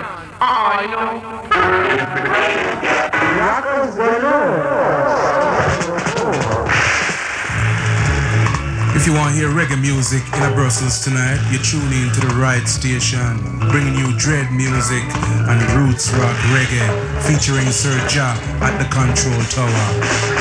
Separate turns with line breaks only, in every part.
I know.
If you want to hear reggae music in Brussels tonight, you tune in to the right station, bringing you dread music and roots rock reggae, featuring Sir Ja at the Control Tower.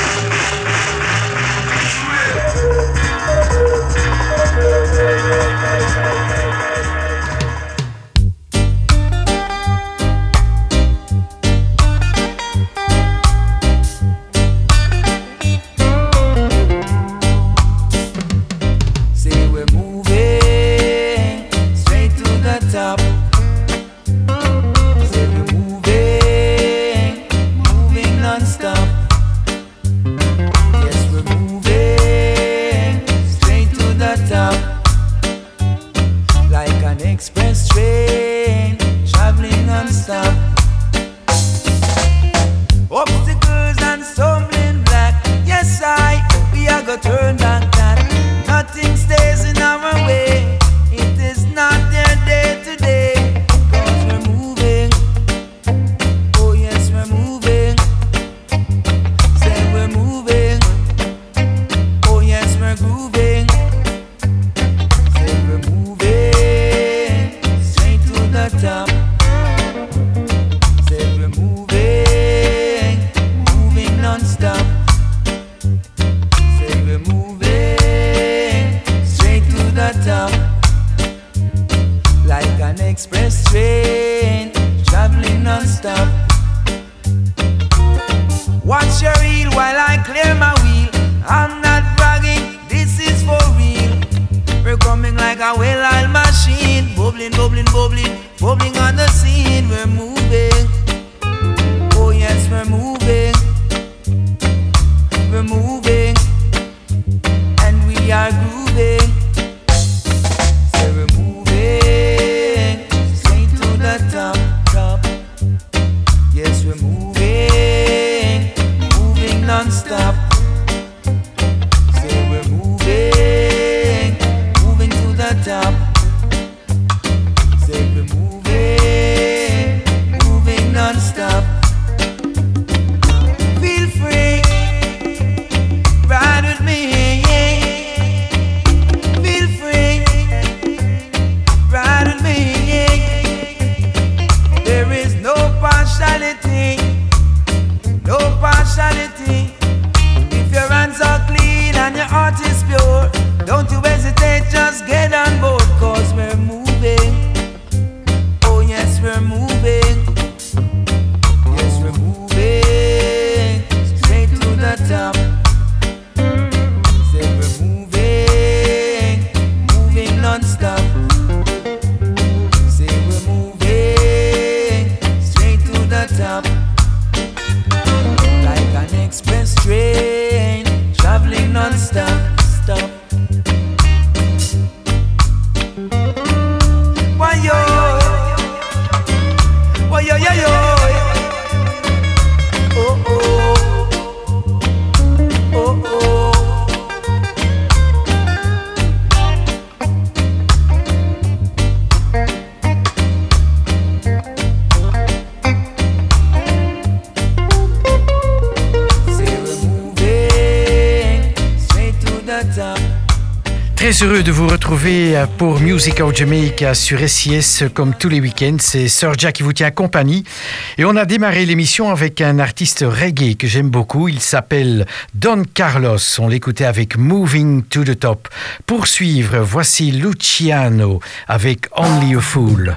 Très heureux de vous retrouver pour Music of Jamaica sur SIS comme tous les week-ends. C'est Sir Ja qui vous tient compagnie. Et on a démarré l'émission avec un artiste reggae que j'aime beaucoup. Il s'appelle Don Carlos. On l'écoutait avec Moving to the Top. Pour suivre, voici Luciano avec Only a Fool.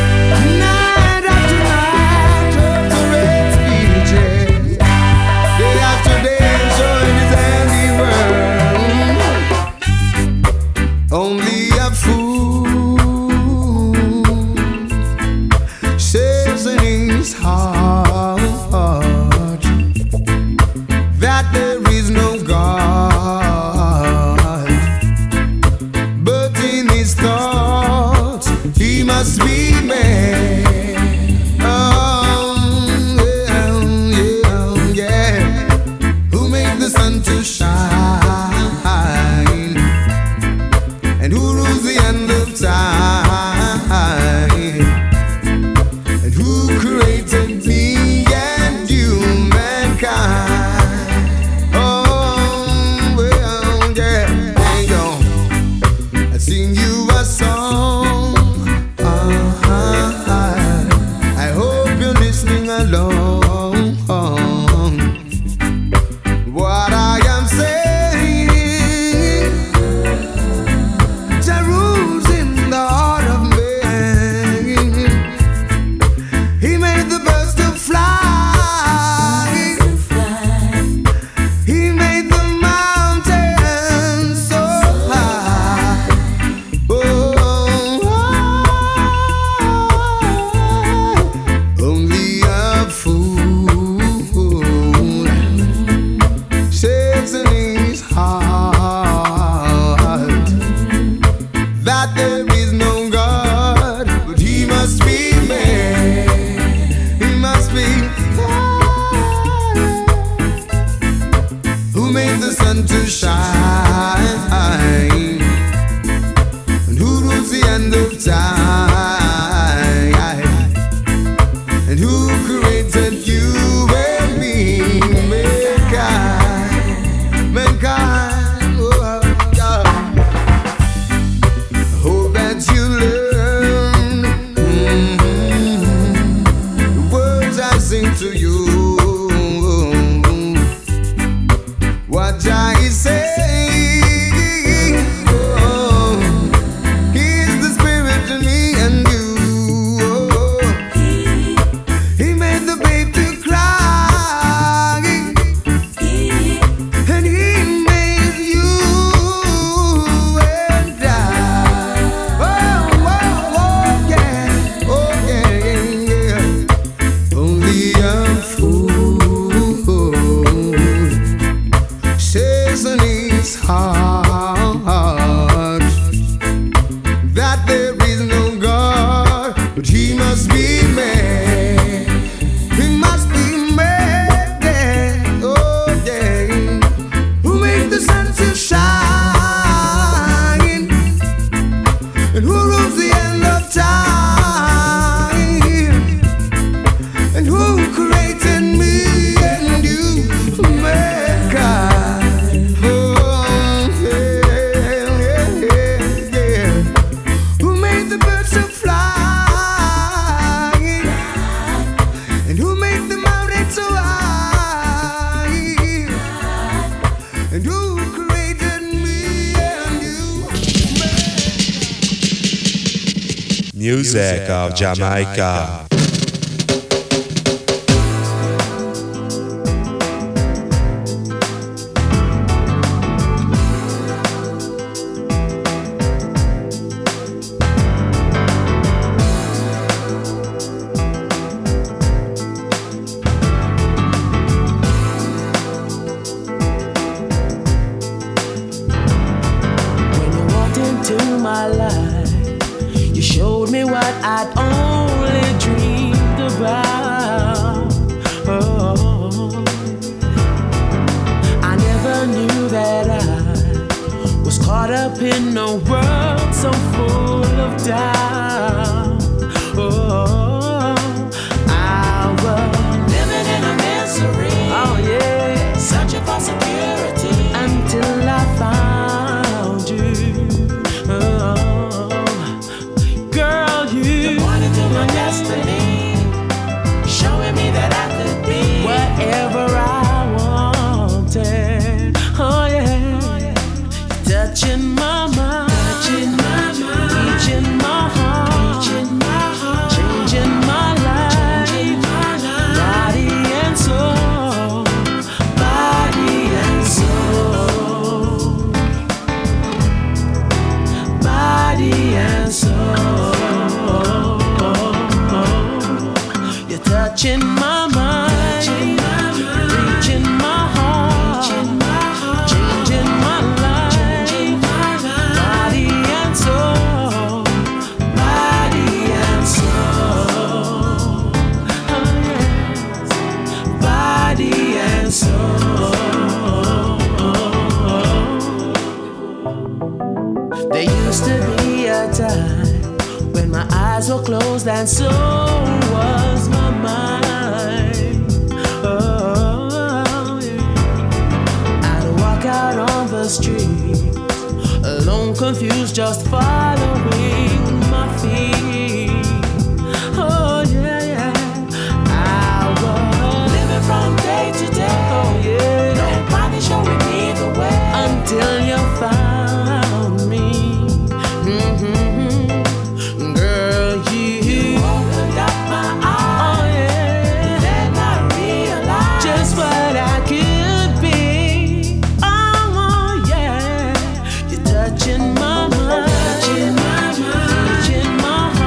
Only a fool says in his heart that there is no God, but in his thoughts he must be made. sing to you what Jah is saying. Oh, He's the Spirit in me and you. Oh, He made the babe to cry, and He made you and I. Oh, oh, oh, yeah, oh, yeah, yeah, yeah. Only a fool says in his heart that there is no God, but he must be mad. He must be mad, yeah, oh yeah. Who made the sun to shine, and who rules the end of time, and who created me and you, mankind. Oh, yeah, yeah, yeah. Who made the birds to fly, and who made the mountains so high, and who created me and you,
Music of Jamaica.
When you walked into my life, you showed me what I'd only dreamed about. Oh, I never knew that I was caught up in a world so full of doubt. Oh, I was living in a misery. Oh yeah, searching for security until I found you. Oh, girl, you pointed to my destiny, showing me that I could be whatever I wanted. Oh yeah, touching my mind, reaching my heart, changing my life, body and soul, body and soul, body and soul. You're touching my mind, reaching my heart, changing my life, body and soul, body and soul. Oh yes, body and soul. There used to be a time when my eyes were closed and so was my mind. Oh, yeah. I'd walk out on the street, alone, confused, just following my feet. Oh yeah, yeah. I was living from day to day. Oh yeah. Nobody showing me the way until you found me. Girl, you opened up my eyes. Oh yeah. Then I realized just what I could be. Oh yeah. You're touching my mind, reaching my heart.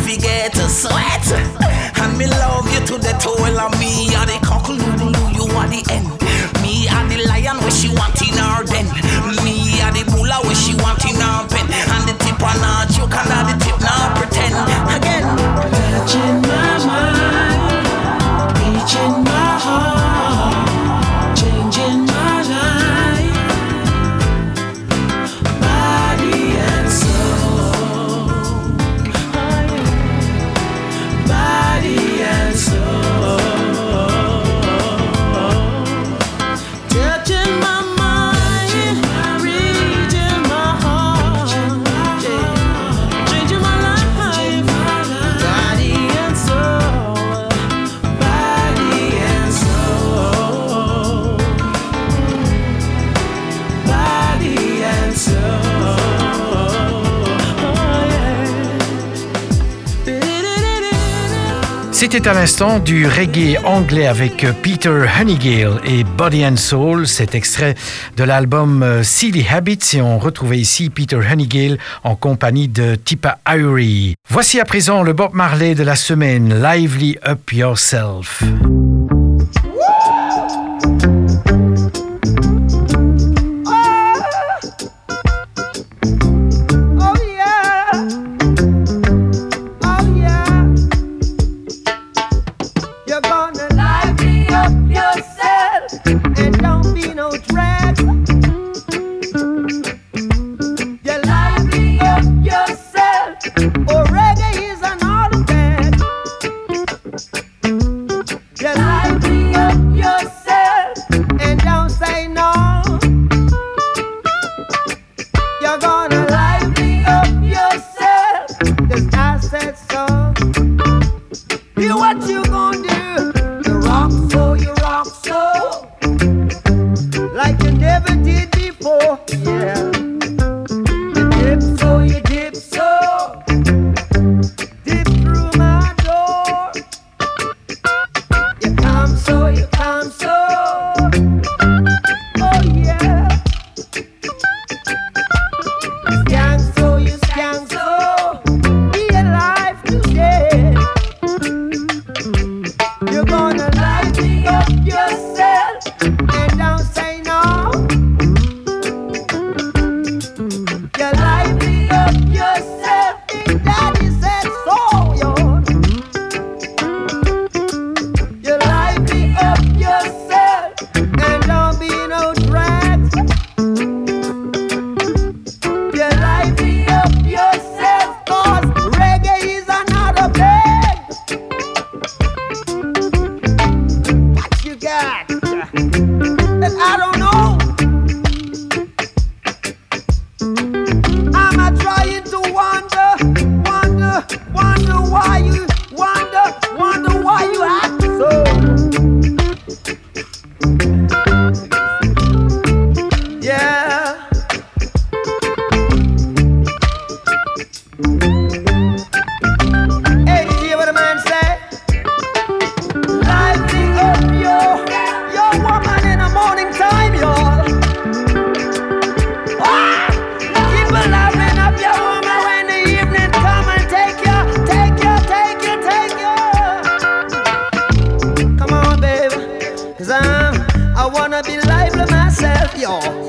forget to sweat. And me love you to the toe of me. Are the cockle you are the end. Me are the lion where she want in her den. Me are the bull where she want in her pen. And the tip on her choke and the tip now pretend. Again.
Touching my mind, reaching my heart, changing my life, body and soul, body and soul. Touching my mind, reaching my heart, changing my life, body and soul, body and soul, body and soul.
C'était à l'instant du reggae anglais avec Peter Honeygale et Body and Soul, cet extrait de l'album Silly Habits, et on retrouvait ici Peter Honeygale en compagnie de Tippa Irie. Voici à présent le Bob Marley de la semaine, Lively Up Yourself.
Oh yeah, oh yeah. You're gonna lively up yourself and don't be no drag. You lively up yourself, or reggae is an artifact. You lively up yourself and don't say no. You're gonna lively up yourself, 'cause I said so. You what you gonna do? You rock so, like you never did before, yeah. You dip so, dip through my door. You come so, oh yeah. You skank so, be alive today. You're gonna lively up yourself and don't say no. You lively up yourself, Big Daddy said so, yo. You lively up yourself and don't be no drag. You lively up yourself, 'cause reggae is another bag. What you got? And I don't know. I'm trying to wonder why you wonder why you act so. Yeah. Hey, did you hear what the man said? Lively up your woman in the morning time, y'all. Ah! Keep a lively up your woman when the evening come and take you. Come on, baby, 'cause I wanna be lively myself, y'all.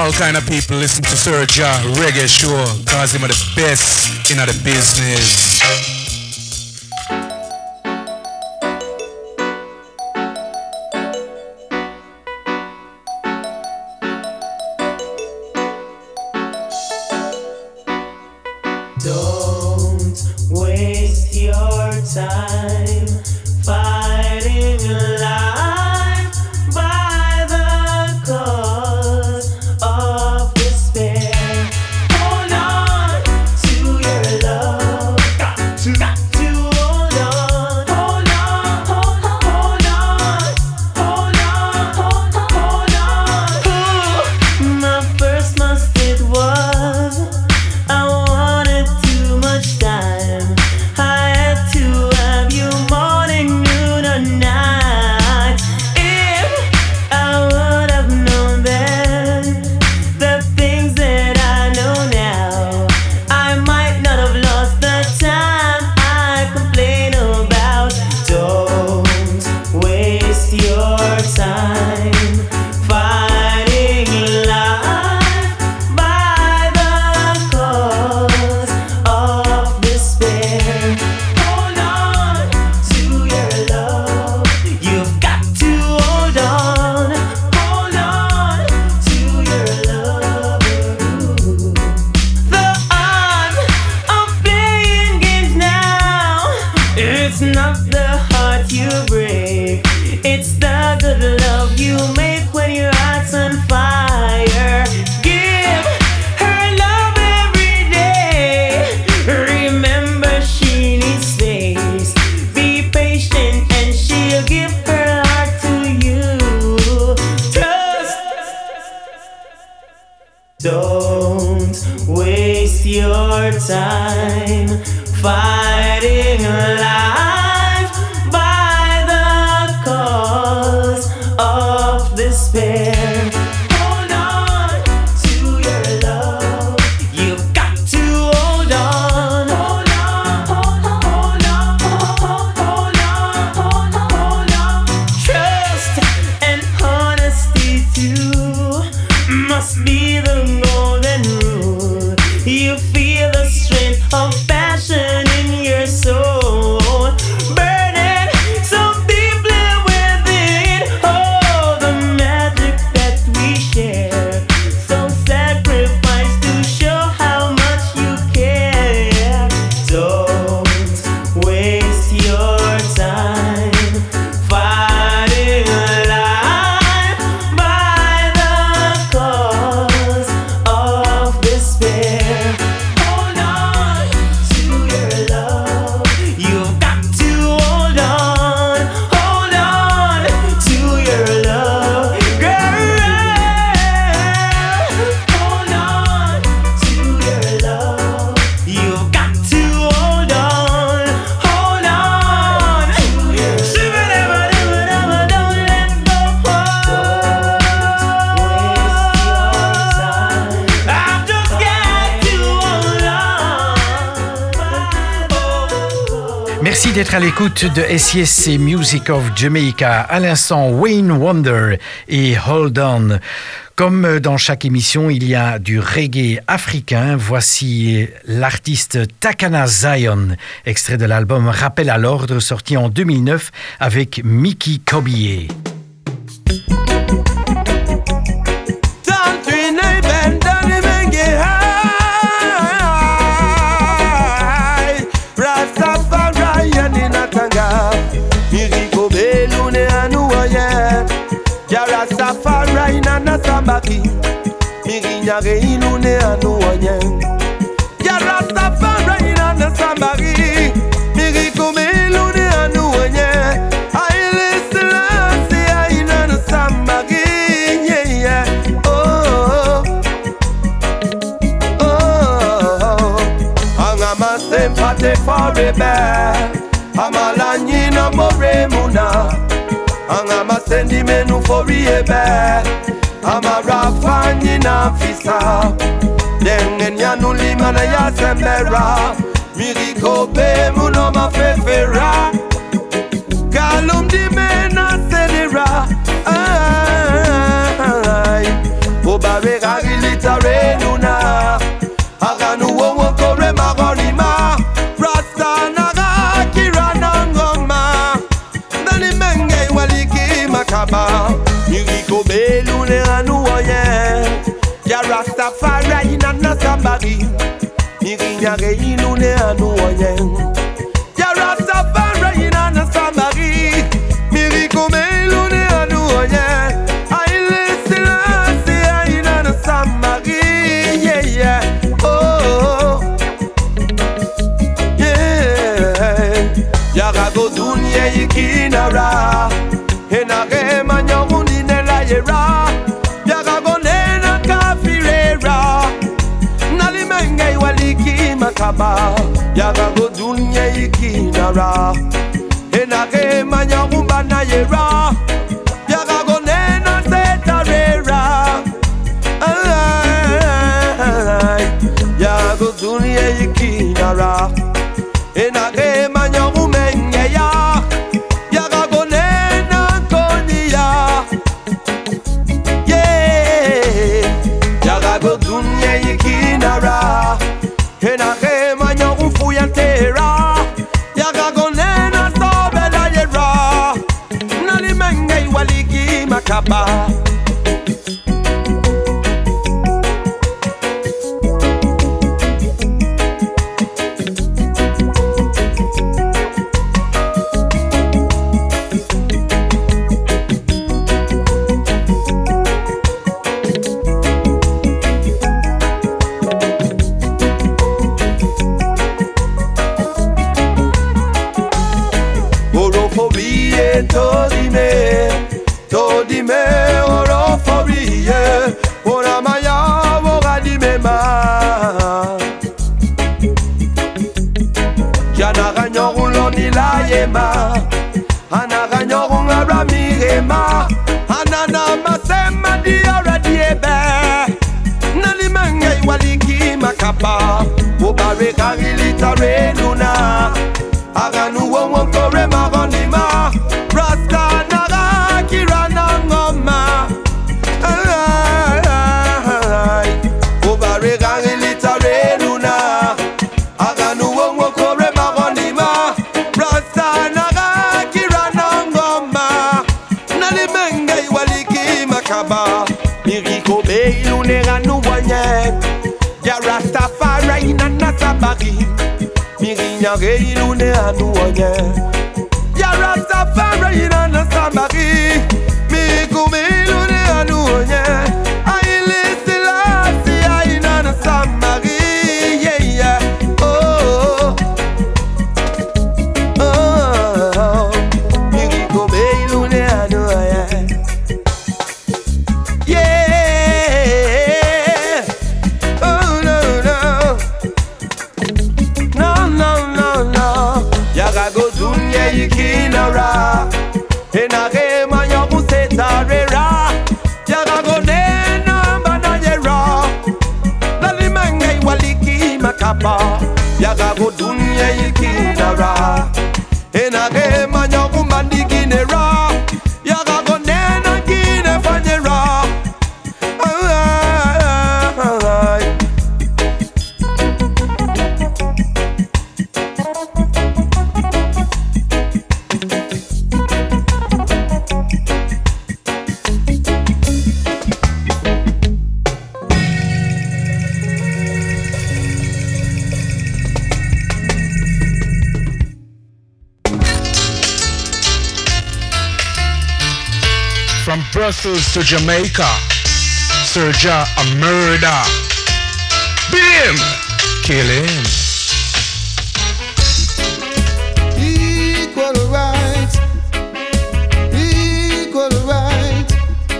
all kind of people listen to Sir Ja Reggae Show, cause him are the best in the business.
Don't waste your time fighting life by the cause of despair. Hold on to your love. Got to hold on. Hold on, hold on, hold on, hold on. My first mistake was I wanted too much time. I had to have you morning, noon, or night. If I would have known then the things that I know now, I might not have lost the time I complain about. Don't waste your time fighting life by the cause of despair. Hold on to your love. You've got to hold on. Hold on to your love. The art of playing games now. It's not the heart you break. It's the good love you make when your heart's on fire. Give her love every day. Remember she needs space. Be patient and she'll give her heart to you. Trust. Don't waste your time fighting life by the cause of despair. Hold on to your love. You've got to hold on. Hold on, hold on, hold on, hold on, hold on. Trust and honesty too must be the golden rule. You feel the strength of passion in your soul, burning so deeply within. Oh, the magic that we share. So sacrifice to show how much you care. Don't waste your time fighting life by the cause of despair. Hold on to your love. You've got to hold on. Hold on to your love, girl. Hold on to your love. You've got to hold on. Hold on. Don't let go. I've just got to hold on.
Merci d'être à l'écoute de SIS et Music of Jamaica. À l'instant, Wayne Wonder et Hold On. Comme dans chaque émission, il y a du reggae africain. Voici l'artiste Takana Zion, extrait de l'album Rappel à l'ordre, sorti en 2009 avec Mickey Kobié.
Rastafari na sambaki Mirinyare ilune anu wanyen Ya Rastafari na sambaki Mirikome ilune anu wanyen Aile Selassie aina na sambaki Yeah, yeah, oh, oh, oh Angama sempate forebe Amalanyi na more muna Angama sendi menu foriebe Ama rafanyi na fisa Dengen ya nulima na ya sembera Miriko be muno mafefera Kalum di mena selera Ay, Obare gagile Nyare ilune anu onyen Ya Rastafari na Samari Miracle me ilune anu onyen Aile Selassie na Samari Yeah yeah oh yeah Ya go dunye ikinara Enare manyoruni nela yera Ya go nena kafirera Nalimenge waliki makaba Ya go dunye ikinara Enare manyorumba na yera Ya go nena setarera Ya go dunye ikinara Enare manyorumenge ya Go dunya yikinara Hena kema nyorufu ya tera Yaga go nena sobela yera Nali menge iwaliki makaba Todime oroforie Ora maya wora dimema Jana ganyorun loni la yema Ana ganyorun aramirema Anana masema diara diebe Nali menge waliki makapa Obare karilita renuna Aganu wonwon kore magonima Rasta naga kirana ngoma Obare gangi litare luna Aganu wonwon kore magonima Rasta naga kirana ngoma Nali menge iwaliki makaba Miriko be ilune ganu wanye Ya Rastafari na Nasabari Mirinyare ilune anu onye Ya Rastafari na Samari Miracle me ilune anu onye Aile Selassie na Samari Yeah yeah oh oh Miracle me ilune anu onye Yeah oh no no Yaga go dunye yikinara Enare manyoru setarera Yaga go nena banayera Lali menge iwaliki makapa Yaga go dunye yikinara Enare manyoru mandiginera Yaga go nena gine fanyera
From Brussels to Jamaica, Serja a murder. Beat him, kill him.
Equal rights, equal rights.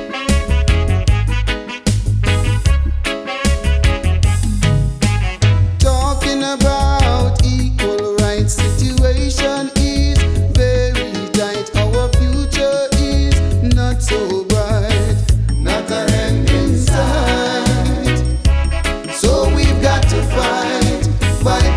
Talking about equal rights, situation is very tight. Our future is not so bright, not a end in sight. So we've got to fight by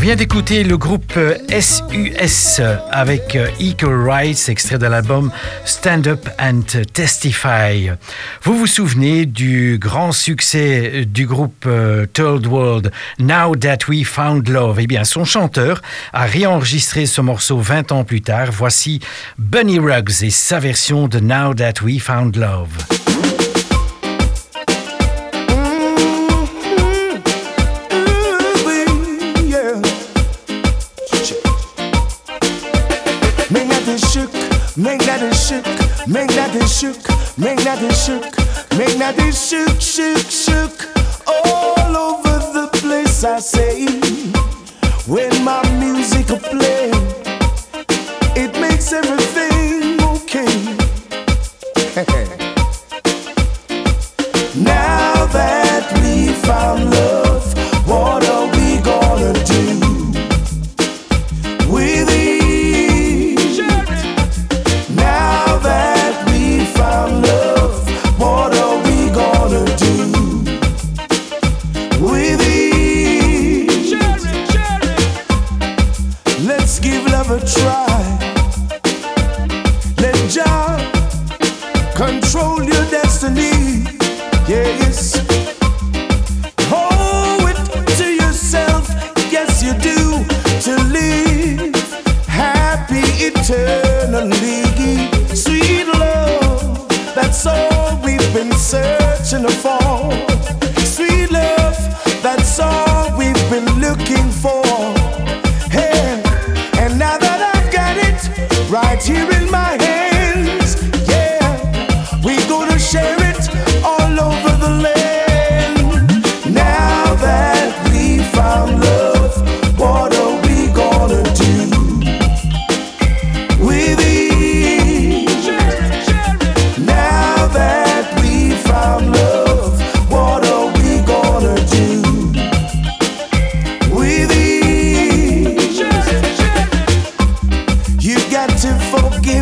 vient d'écouter le groupe SUS avec Equal Rights, extrait de l'album Stand Up and Testify. Vous vous souvenez du grand succès du groupe Third World, Now That We Found Love? Eh bien, son chanteur a réenregistré ce morceau 20 ans plus tard. Voici Bunny Ruggs et sa version de Now That We Found Love.
Make that it shook, make that it shook, make that it shook, make that it shook, shook, shook all over the place. I say, when my music will play, it makes everything okay. Now that we found love, what are we gonna do with it? Love, what are we gonna do with it? Let's give love a try. Let Jah control your destiny. Yes, owe it to yourself. Yes, you do, to live happy eternally. Sweet love, that's all we've been searching for. Sweet love, that's all we've been looking for. Hey, and now that I've got it right here in my hands, yeah, we're gonna share it all over the land. Now that we found love, what are we gonna do with it? Love, what are we gonna do with it? You got to forgive.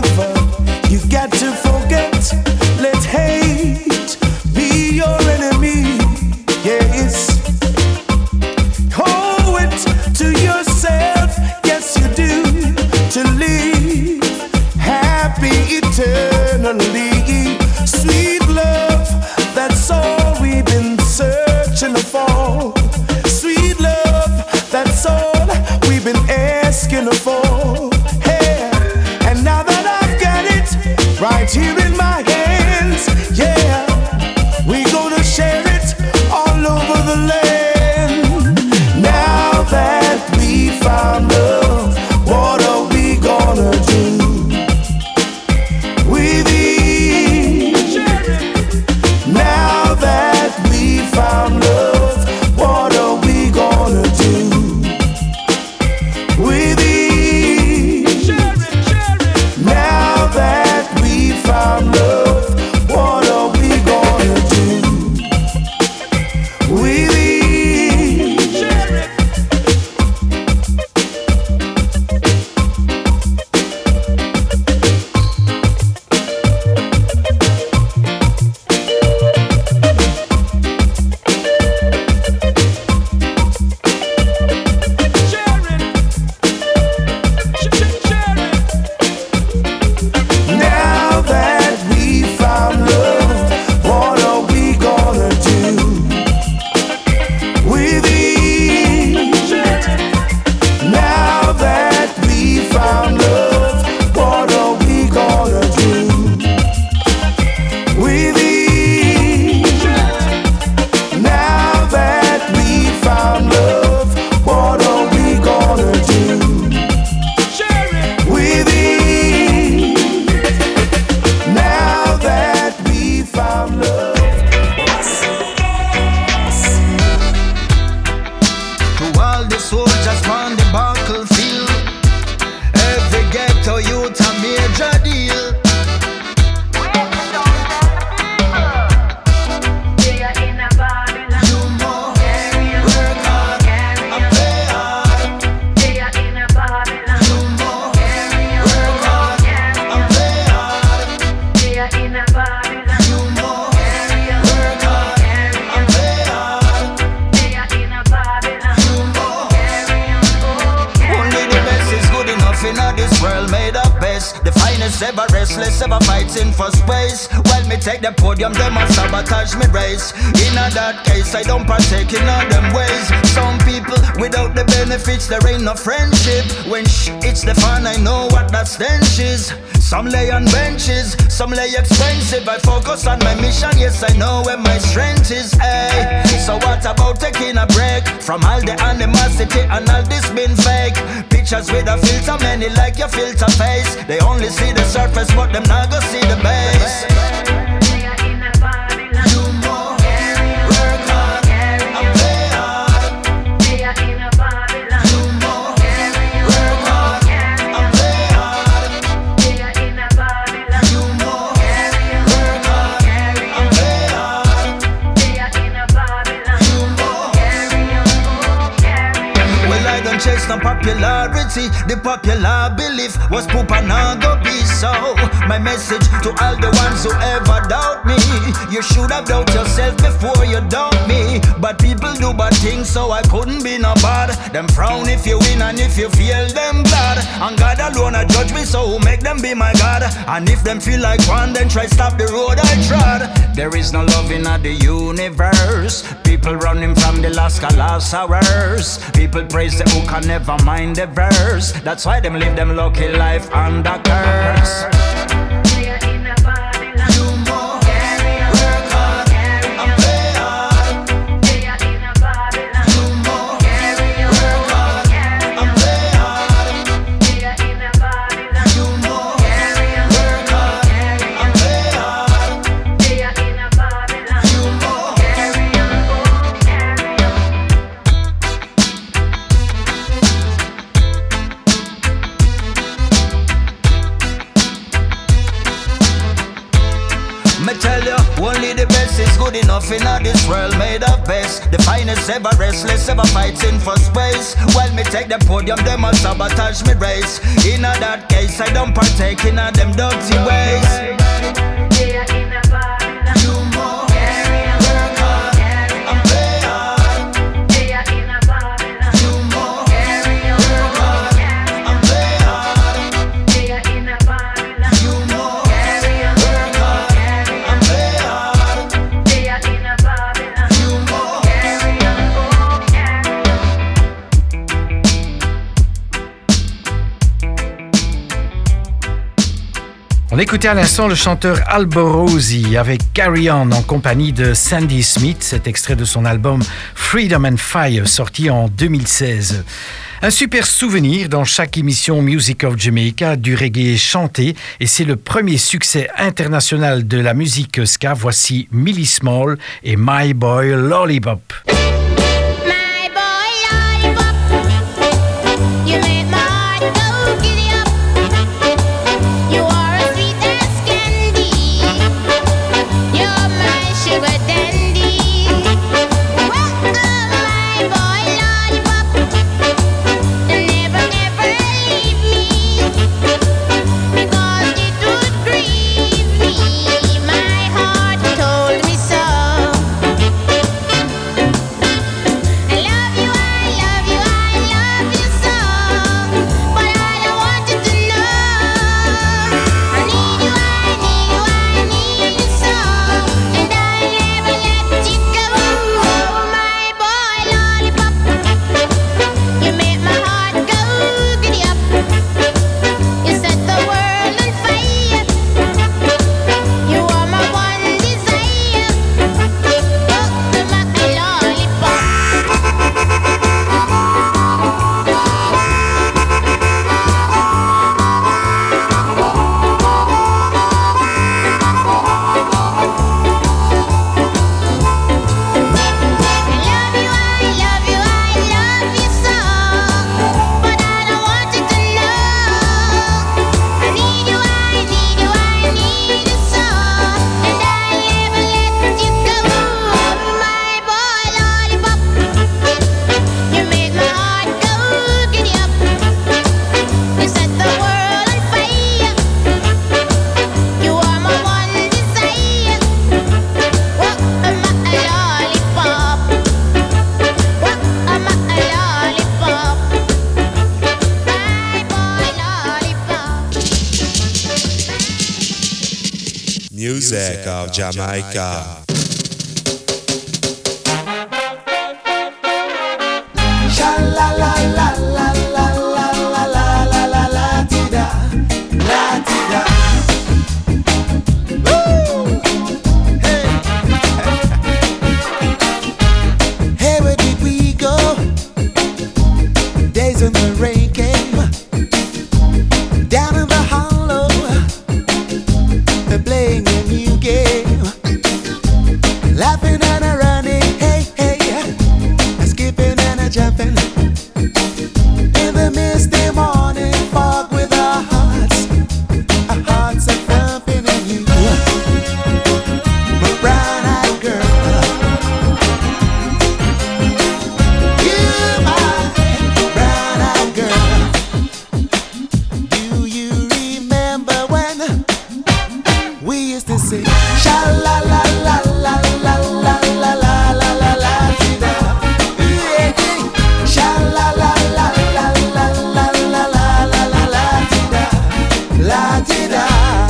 best. The finest ever, restless ever, fighting for space. While me take the podium, them a sabotage me race. In that case, I don't partake in all them ways. Some people, without the benefits, there ain't no friendship. When it's the fun, I know what that stench is. Some lay on benches, some lay expensive. I focus on my mission, yes, I know where my strength is. Ay. So what about taking a break from all the animosity and all this been fake? Pictures with a filter, many like your filter face. They only see the surface, but them not go see the base. Chase no popularity, the popular belief was poop and not go be so. My message to all the ones who ever doubt me: you should have doubt yourself before you doubt me. But people do bad things, so I couldn't be no bad. Them frown if you win and if you fail, them glad. And God alone a judge me, so who make them be my God? And if them feel like one, then try stop the road I trod. There is no love in the universe. People running from the last hours. People praise the hook and never mind the verse. That's why them live them lucky life under curse. Enough in this world made of best. The finest ever, restless ever, fighting for space. While me take the podium, them a sabotage me race. In that case, I don't partake in them dirty ways.
On écoutait à l'instant le chanteur Alborosie avec Carry On en compagnie de Sandy Smith, cet extrait de son album Freedom and Fire sorti en 2016. Un super souvenir dans chaque émission Music of Jamaica du reggae chanté et c'est le premier succès international de la musique ska. Voici Millie Small et My Boy Lollipop.
My heart told me so.
music of Jamaica.
Sha la la la la la la la la la la la ti da, la ti da. Woo! Hey, hey, where did we go? Days when the rain came down in the hollow. They're playing a new game, laughing and a running. Hey, hey, skipping and a jumping in the misty morning fog with our hearts are thumping in you, my brown-eyed girl. You, my brown-eyed girl. Do you remember when we used to sing sha la la la la la la la la la la la ti da? Sha la la la la la la la la la la la ti da, la ti da.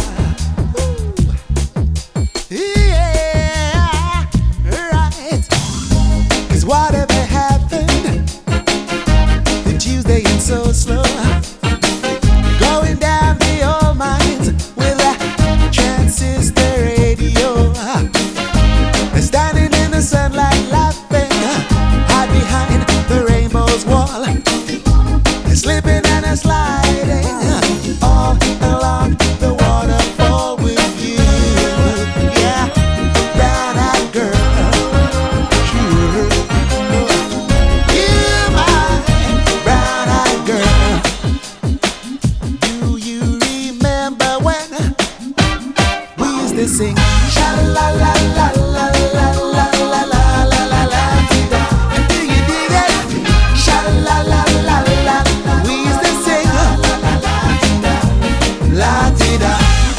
Yeah, right. 'Cause whatever happened to Tuesday and so slow, going down the old mines with a transistor radio, standing in the sunlight laughing, hide behind the rainbow's wall, slipping and a sliding all along the waterfall with you. Yeah, brown-eyed girl, sure. You, my brown-eyed girl. Do you remember when we used to sing sha la la la la la la la la la la la ti da? And do you dig it? Sha la la la la. We used to sing la la la la ti da.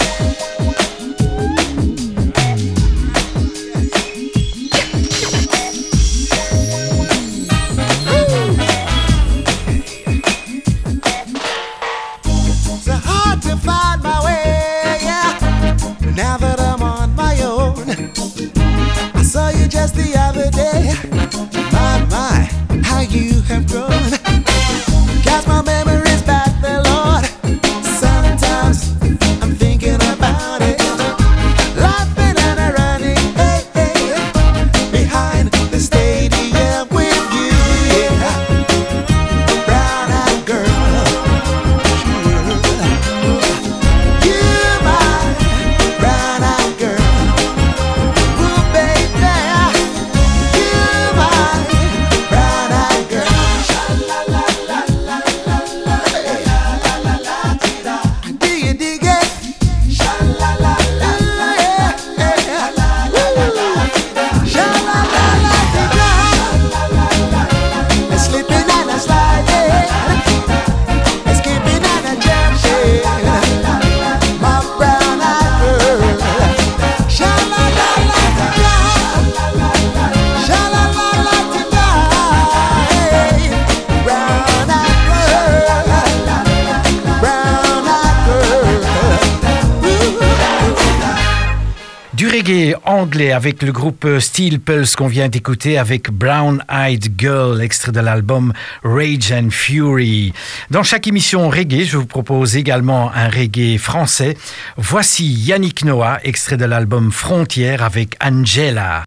It's hard to find my way, yeah, now that I'm on my own. I saw you just the other day. My, how you have grown. Cast my memories back there, Lord. Sometimes I'm thinking about it, laughing and a running, hey, hey, behind the stadium with you, yeah. Brown-eyed girl, sure. You, my brown-eyed girl. Ooh, baby, you, my brown-eyed girl. Sha la la la la la la la la la ti da. Do you dig it? Sha la la la la yeah, yeah. La la la la ti da. Sha la la la ti da. Sha la la la. Slipping and a sliding, skipping and a jumping, my brown-eyed girl. Sha la la la ti da. Sha la la la ti da. Hey, brown-eyed girl, brown-eyed girl.
Du reggae anglais avec le groupe Steel Pulse qu'on vient d'écouter avec Brown Eyed Girl, extrait de l'album Rage and Fury. Dans chaque émission reggae, je vous propose également un reggae français. Voici Yannick Noah, extrait de l'album Frontières avec Angela.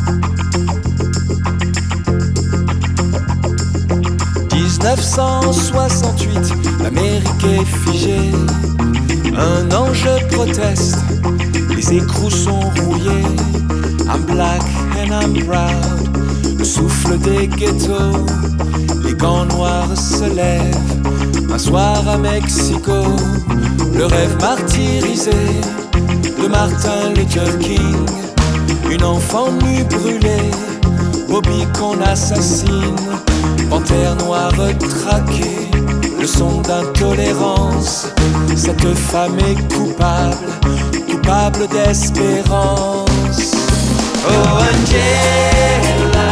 1968, l'Amérique est figée. Un ange proteste, les écrous sont rouillés. I'm black and I'm proud. Le souffle des ghettos, les gants noirs se lèvent. Un soir à Mexico, le rêve martyrisé de Martin Luther King. Une enfant nue brûlée, Bobby qu'on assassine. Panthère noire traquée, leçon d'intolérance. Cette femme est coupable, coupable d'espérance. Oh Angela,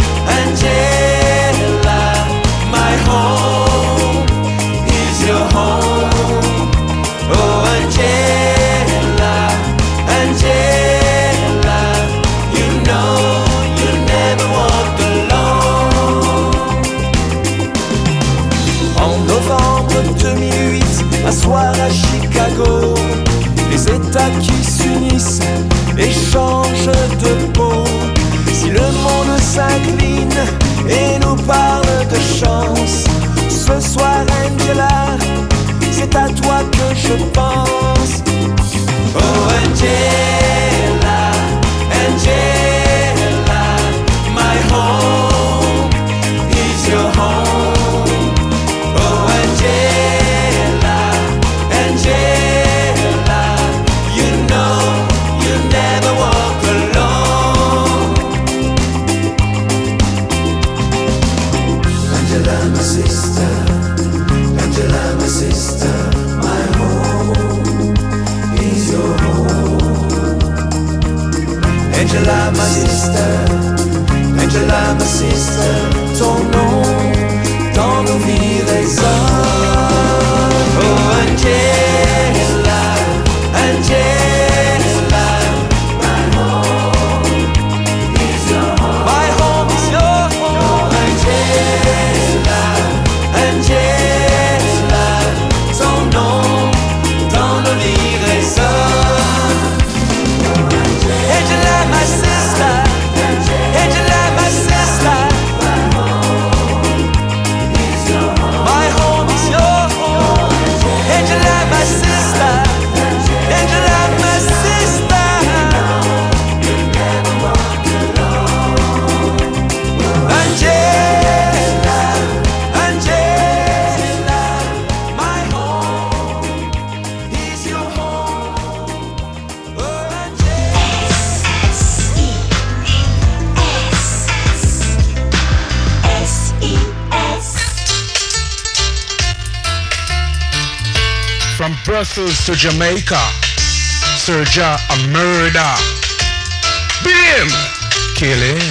Angela, my home is your home. Oh Angela, Angela. En novembre 2008, un soir à Chicago, les États qui s'unissent et changent de peau. Si le monde s'incline et nous parle de chance, ce soir Angela, c'est à toi que je pense. Oh Angela, Angela, my home is your home. Oh Angela, Angela, you know you never walk alone. Angela, my sister, Angela, my sister, my home is your home. Angela, my sister, Angela, my sister, ton nom dans nos vies résonne. Oh Angela, Angela, my home is your home. My home is your home. Angela, Angela, ton nom dans nos vies résonne. Angela, my sister, Angela, my sister, my home is your home. My home is your home. Angela, my sister, Angela, my sister. You never walk alone. Angela, Angela, my home is your home. Oh,
From Brussels to Jamaica, Serja a murder. Beat him, kill him.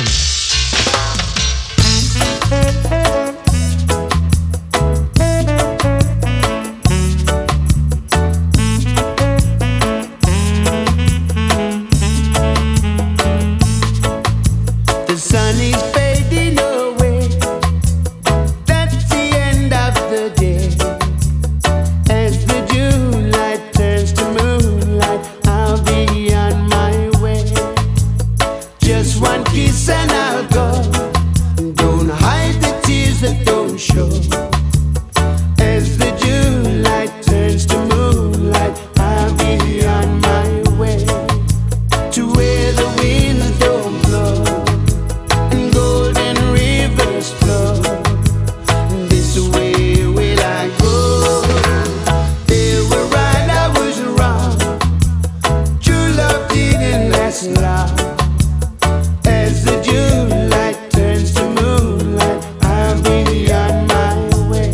The sun is fading away. That's the end of the day. As the June light turns to moonlight, I'll be on my way. Just one kiss and I'll go. Don't hide the tears that don't show. As the June light turns to moonlight, I'll be on my way to where the winds don't blow and golden rivers flow. This way will I go. They were right, I was wrong. True love didn't last long. As the June light turns to moonlight, I'll be on my way.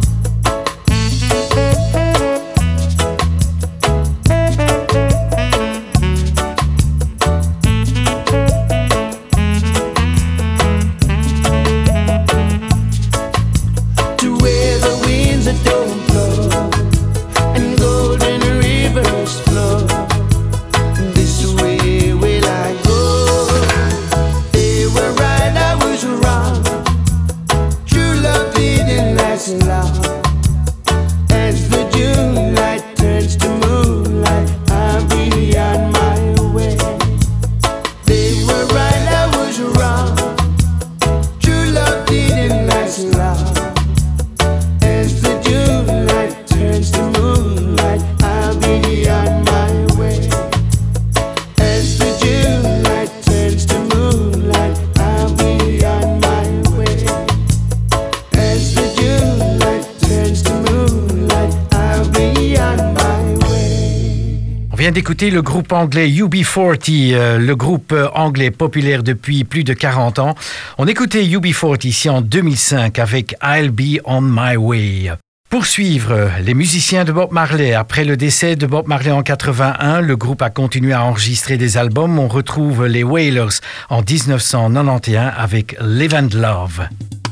To where the winds that don't blow and golden rivers flow. This way will I go. They were right, I was wrong. True love didn't last long. As the June light turns to moonlight, I'll be on my way. They were right, I was wrong. True love didn't last long. As the June light turns to moonlight, I'll be on my way. As the June light turns to moonlight, I'll be on my way. As the June light turns to moonlight, I'll be on my way.
On vient d'écouter le groupe anglais UB40, le groupe anglais populaire depuis plus de 40 ans. On écoutait UB40 ici en 2005 avec I'll Be On My Way. Pour suivre, les musiciens de Bob Marley. Après le décès de Bob Marley en 81, le groupe a continué à enregistrer des albums. On retrouve les Wailers en 1991 avec Live and Love.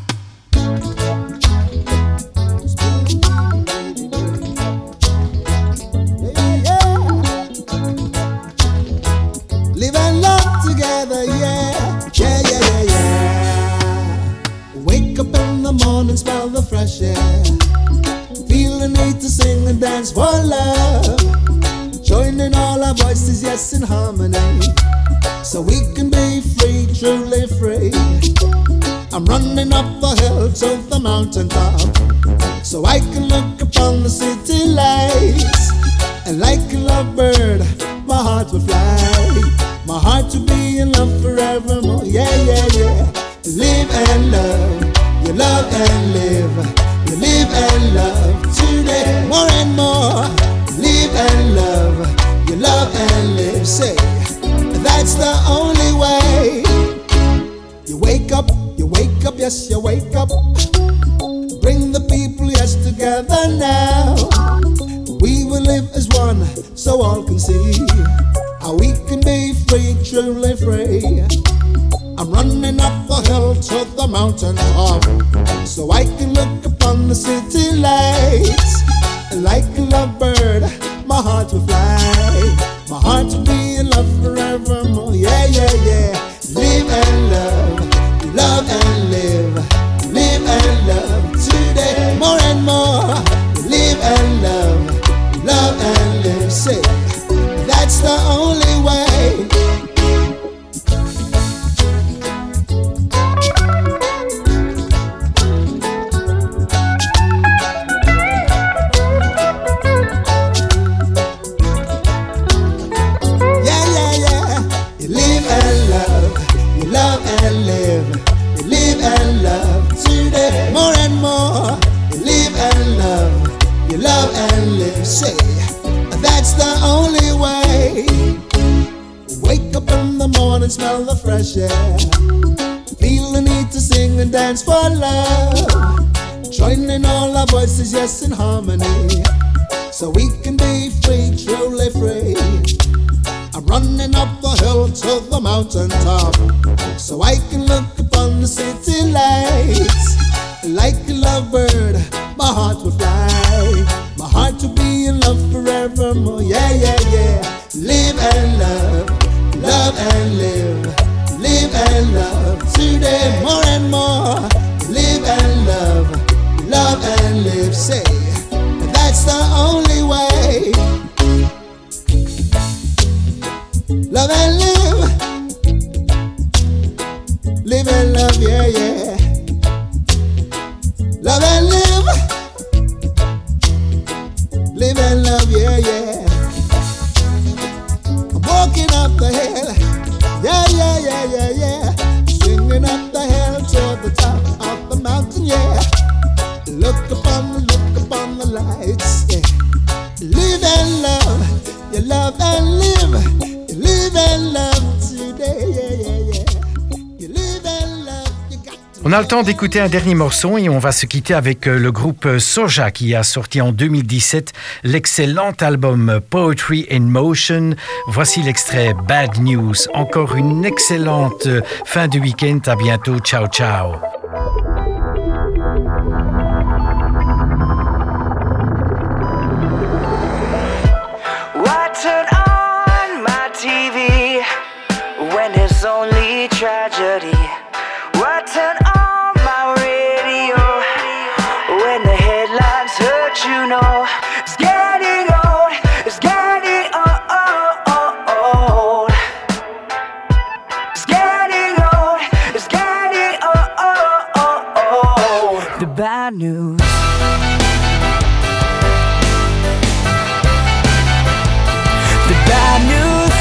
Live and love together, yeah. Yeah, yeah, yeah, yeah. Wake up in the morning, smell the fresh air.
Feel the need to sing and dance for love. Joining all our voices, yes, in harmony. So we can be free, truly free. I'm running up the hill to the mountaintop, so I can look upon the city lights. And like a lovebird, my heart will fly. My heart will be in love forevermore. Yeah, yeah, yeah. Live and love, you love and live. You live and love today, more and more. Live and love, you love and live. Say, that's the only way. You wake up, yes, you wake up. Bring the people, yes, together now. We will live as one, so all can see how we can be free, truly free. I'm running up the hill to the mountain top, so I can look upon the city lights. Like a lovebird, my heart will fly. My heart will be in love forevermore. Yeah, yeah, yeah. Live and love, love and live. Live and love today, more and more. Live and love, love and live. Say, that's the only way. Say, that's the only way. Wake up in the morning, smell the fresh air. Feel the need to sing and dance for love. Joining all our voices, yes, in harmony. So we can be free, truly free. I'm running up the hill to the mountain top, so I can look upon the city lights. Like a lovebird, my heart will fly. My heart will be in love forevermore. Yeah, yeah, yeah. Live and love, love and live. Live and love today, more and more. Live and love, love and live. Say, that's the only way. Love and live. Live and love, yeah, yeah. Love and live. Live and love, yeah, yeah. I'm walking up the hill. Yeah, yeah, yeah, yeah, yeah. Swinging up the hill to the top of the mountain, yeah. Look upon the lights, yeah. Live and love. You love and live. You live and love today, yeah, yeah, yeah. You live and love.
On a le temps d'écouter un dernier morceau et on va se quitter avec le groupe Soja qui a sorti en 2017 l'excellent album Poetry in Motion. Voici l'extrait Bad News. Encore une excellente fin de week-end. À bientôt. Ciao, ciao.
Why turn on my TV when it's only tragedy? Why turn on my radio when the headlines hurt, you know? It's getting old, it's getting old. It's getting old, it's getting old. The bad news. The bad news.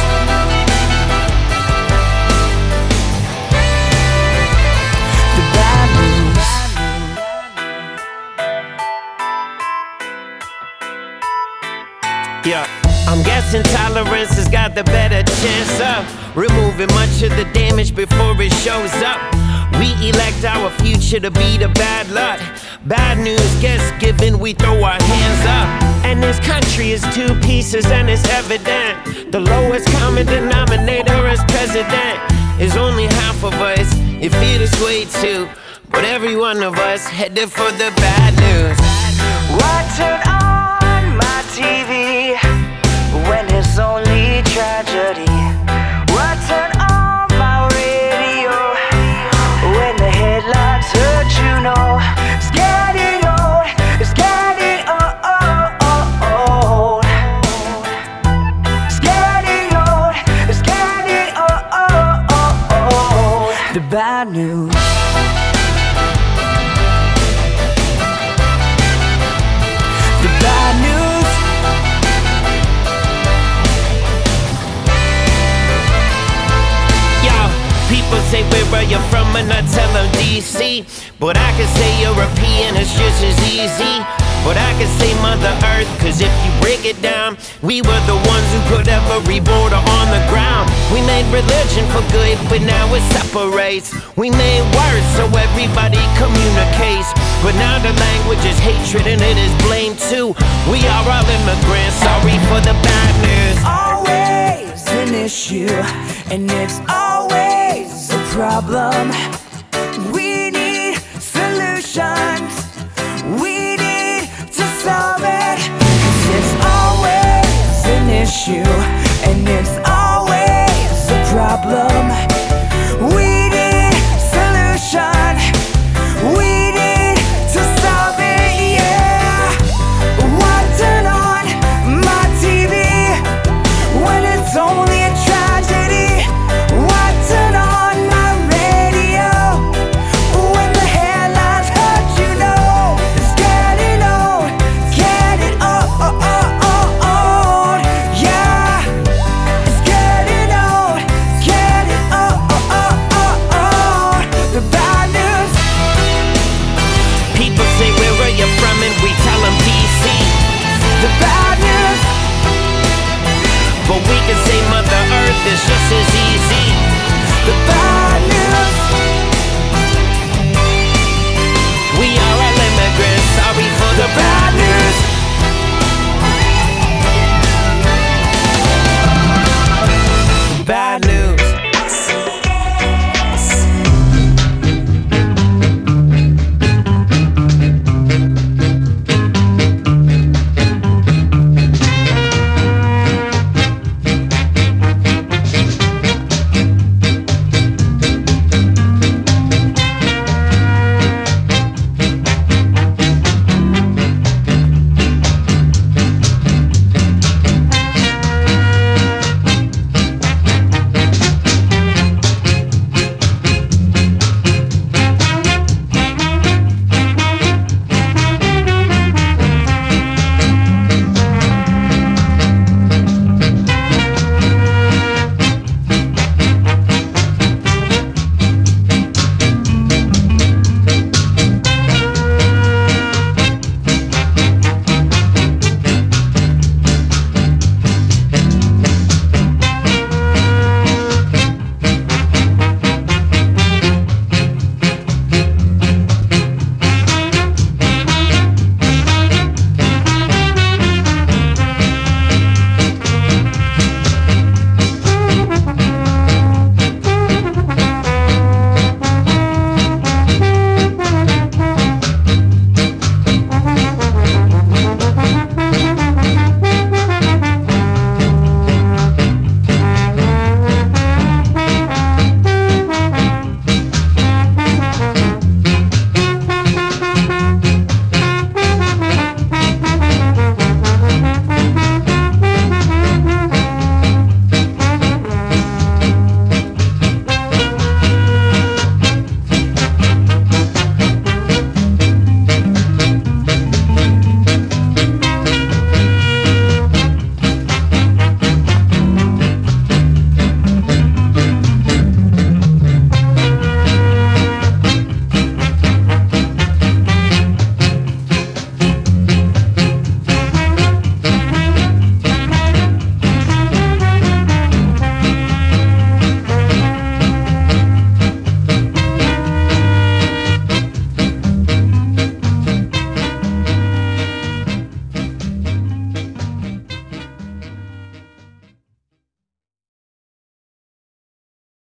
Yeah, I'm guessing tolerance has got the better chance of removing much of the damage before it shows up. We elect our future to be the bad luck. Bad news gets given, we throw our hands up. And this country is two pieces and it's evident. The lowest common denominator as president is only half of us. It feels this way too, but every one of us headed for the bad news.
Why turn on my TV when it's only tragedy? Why turn on my radio when the headlines hurt, you know? It's getting old, it's getting old.
you're from and I tell them DC. But I can say European, it's just as easy. But I can say Mother Earth, cause if you break it down, we were the ones who put every border on the ground. We made religion for good, but now it separates. We made words so everybody communicates. But now the language is hatred and it is blame too. We are all immigrants, sorry for the bad news.
Always an issue, and it's always a problem. We need solutions. We need to solve it. 'Cause it's always an issue, and it's always a problem.